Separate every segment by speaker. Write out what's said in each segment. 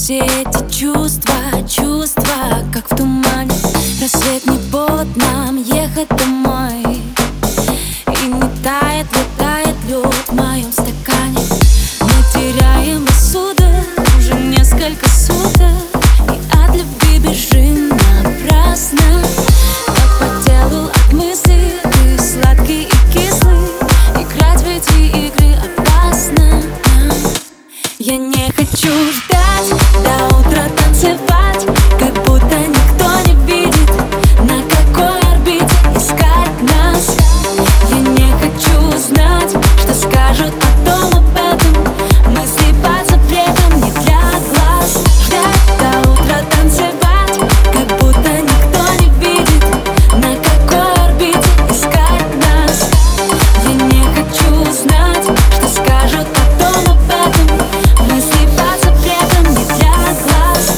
Speaker 1: все эти чувства, как в тумане. Рассвет не повод нам ехать домой. И не тает лед в моем стакане. Мы теряем рассудок уже несколько суток, и от любви бежим напрасно. Так по телу от мысли, ты сладкий и кислый. Играть в эти игры опасно. Я не хочу ждать до утра, танцевать, как будто никто не видит, на какой орбите искать нас. Я не хочу знать, что скажут потом об этом. Мысли под запретом не для глаз. Ждать до утра, танцевать, как будто никто не видит, на какой орбите искать нас. Я не хочу знать, что скажут потом об этом. Мысли под запретом не для глаз.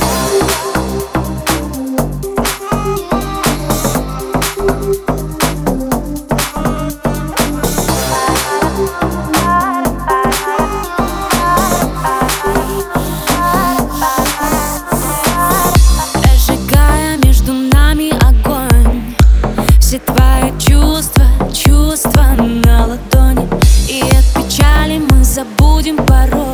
Speaker 1: Разжигая между нами огонь, все твои чувства на ладони. И от печали мы забудем порой.